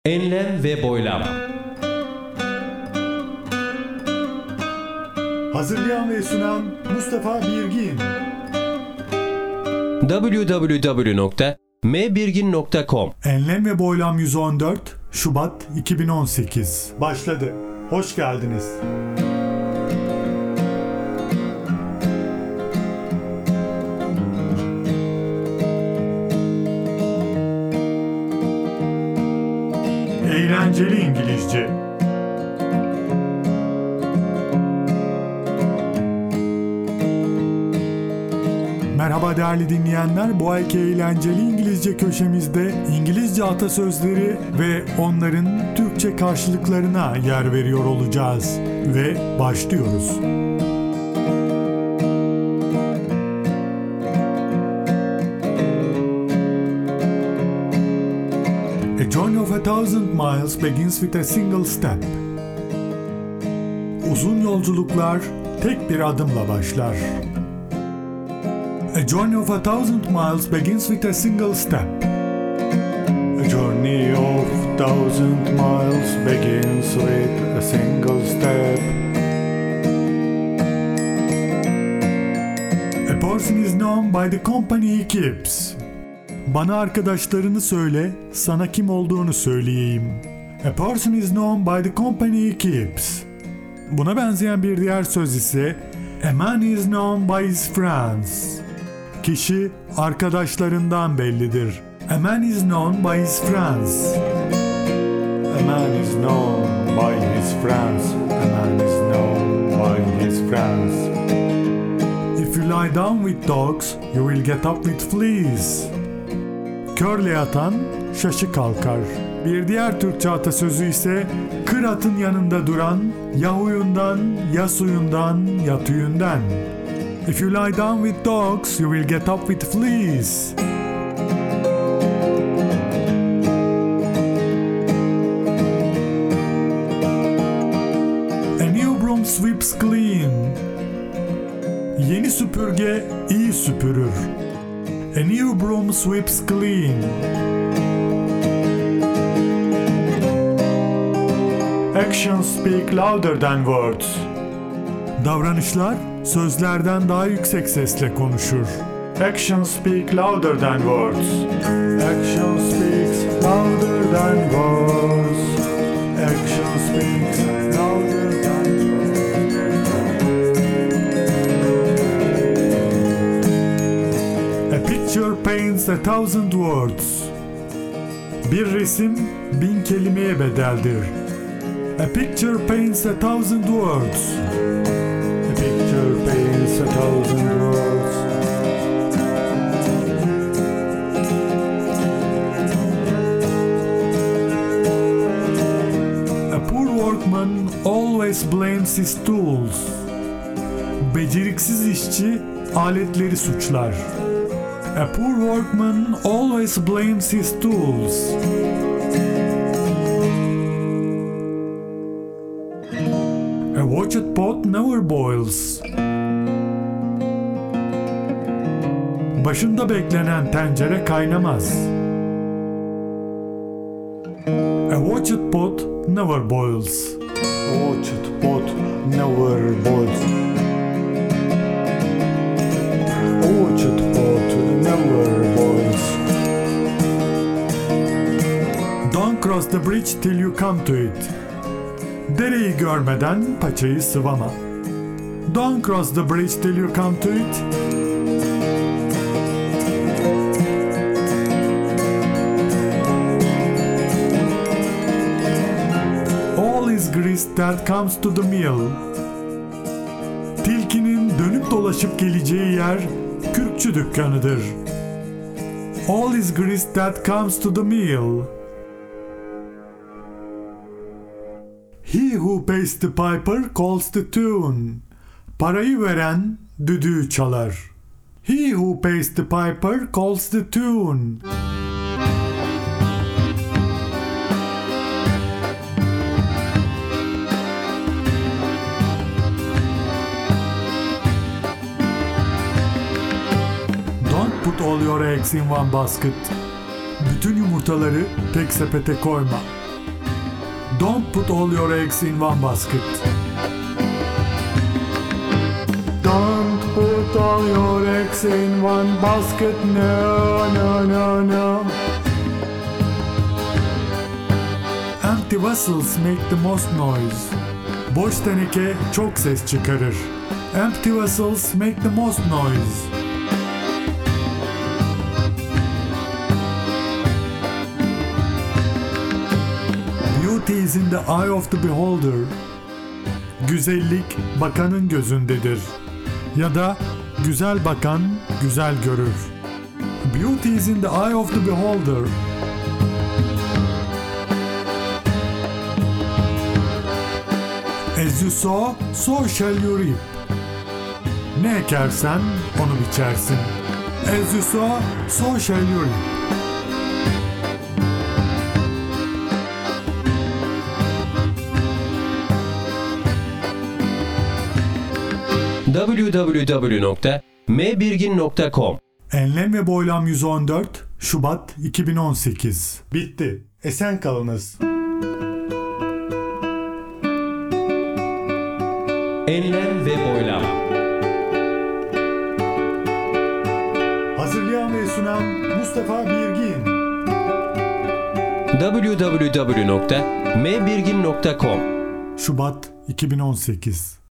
Enlem ve boylam. Hazırlayan ve sunan Mustafa Birgin. www.mbirgin.com. Enlem ve Boylam 114 Şubat 2018 başladı. Hoş geldiniz. Eğlenceli İngilizce. Merhaba değerli dinleyenler, bu ayki eğlenceli İngilizce köşemizde İngilizce atasözleri ve onların Türkçe karşılıklarına yer veriyor olacağız. Ve başlıyoruz. A journey of 1,000 miles begins with a single step. Uzun yolculuklar tek bir adımla başlar. A journey of 1,000 miles begins with a single step. A journey of 1,000 miles begins with a single step. A person is known by the company he keeps. Bana arkadaşlarını söyle, sana kim olduğunu söyleyeyim. A person is known by the company he keeps. Buna benzeyen bir diğer söz ise a man is known by his friends. Kişi arkadaşlarından bellidir. A man is known by his friends. A man is known by his friends. A man is known by his friends. If you lie down with dogs, you will get up with fleas. Körle yatan şaşı kalkar. Bir diğer Türkçe atasözü ise kır atın yanında duran ya huyundan ya suyundan ya tüyünden. If you lie down with dogs, you will get up with fleas. A new broom sweeps clean. Yeni süpürge iyi süpürür. A new broom sweeps clean. Actions speak louder than words. Davranışlar sözlerden daha yüksek sesle konuşur. Actions speak louder than words. Actions speak louder than words. Actions speak louder than words. A picture paints 1,000 words. Bir resim 1000 kelimeye bedeldir. A picture paints 1,000 words. A picture paints 1,000 words. A poor workman always blames his tools. Beceriksiz işçi aletleri suçlar. A poor workman always blames his tools. A watched pot never boils. Başında beklenen tencere kaynamaz. A watched pot never boils. A watched pot never boils. A watched pot never boils. Don't cross the bridge till you come to it. Dereyi görmeden paçayı sıvama. Don't cross the bridge till you come to it. All is grease that comes to the mill. Tilkinin dönüp dolaşıp geleceği yer kürkçü dükkanıdır. All is grease that comes to the mill. He who pays the piper calls the tune. Parayı veren düdüğü çalar. He who pays the piper calls the tune. Don't put all your eggs in one basket. Bütün yumurtaları tek sepete koyma. Don't put all your eggs in one basket. Don't put all your eggs in one basket. No, no, no, no. Empty vessels make the most noise. Boş teneke çok ses çıkarır. Empty vessels make the most noise. Beauty is in the eye of the beholder. Güzellik bakanın gözündedir. Ya da güzel bakan güzel görür. Beauty is in the eye of the beholder. As you sow, so shall you reap. Ne ekersen onu biçersin. As you sow, so shall you reap. www.mbirgin.com Enlem ve Boylam 114 Şubat 2018. Bitti. Esen kalınız. Enlem ve Boylam. Hazırlayan ve sunan Mustafa Birgin. www.mbirgin.com Şubat 2018.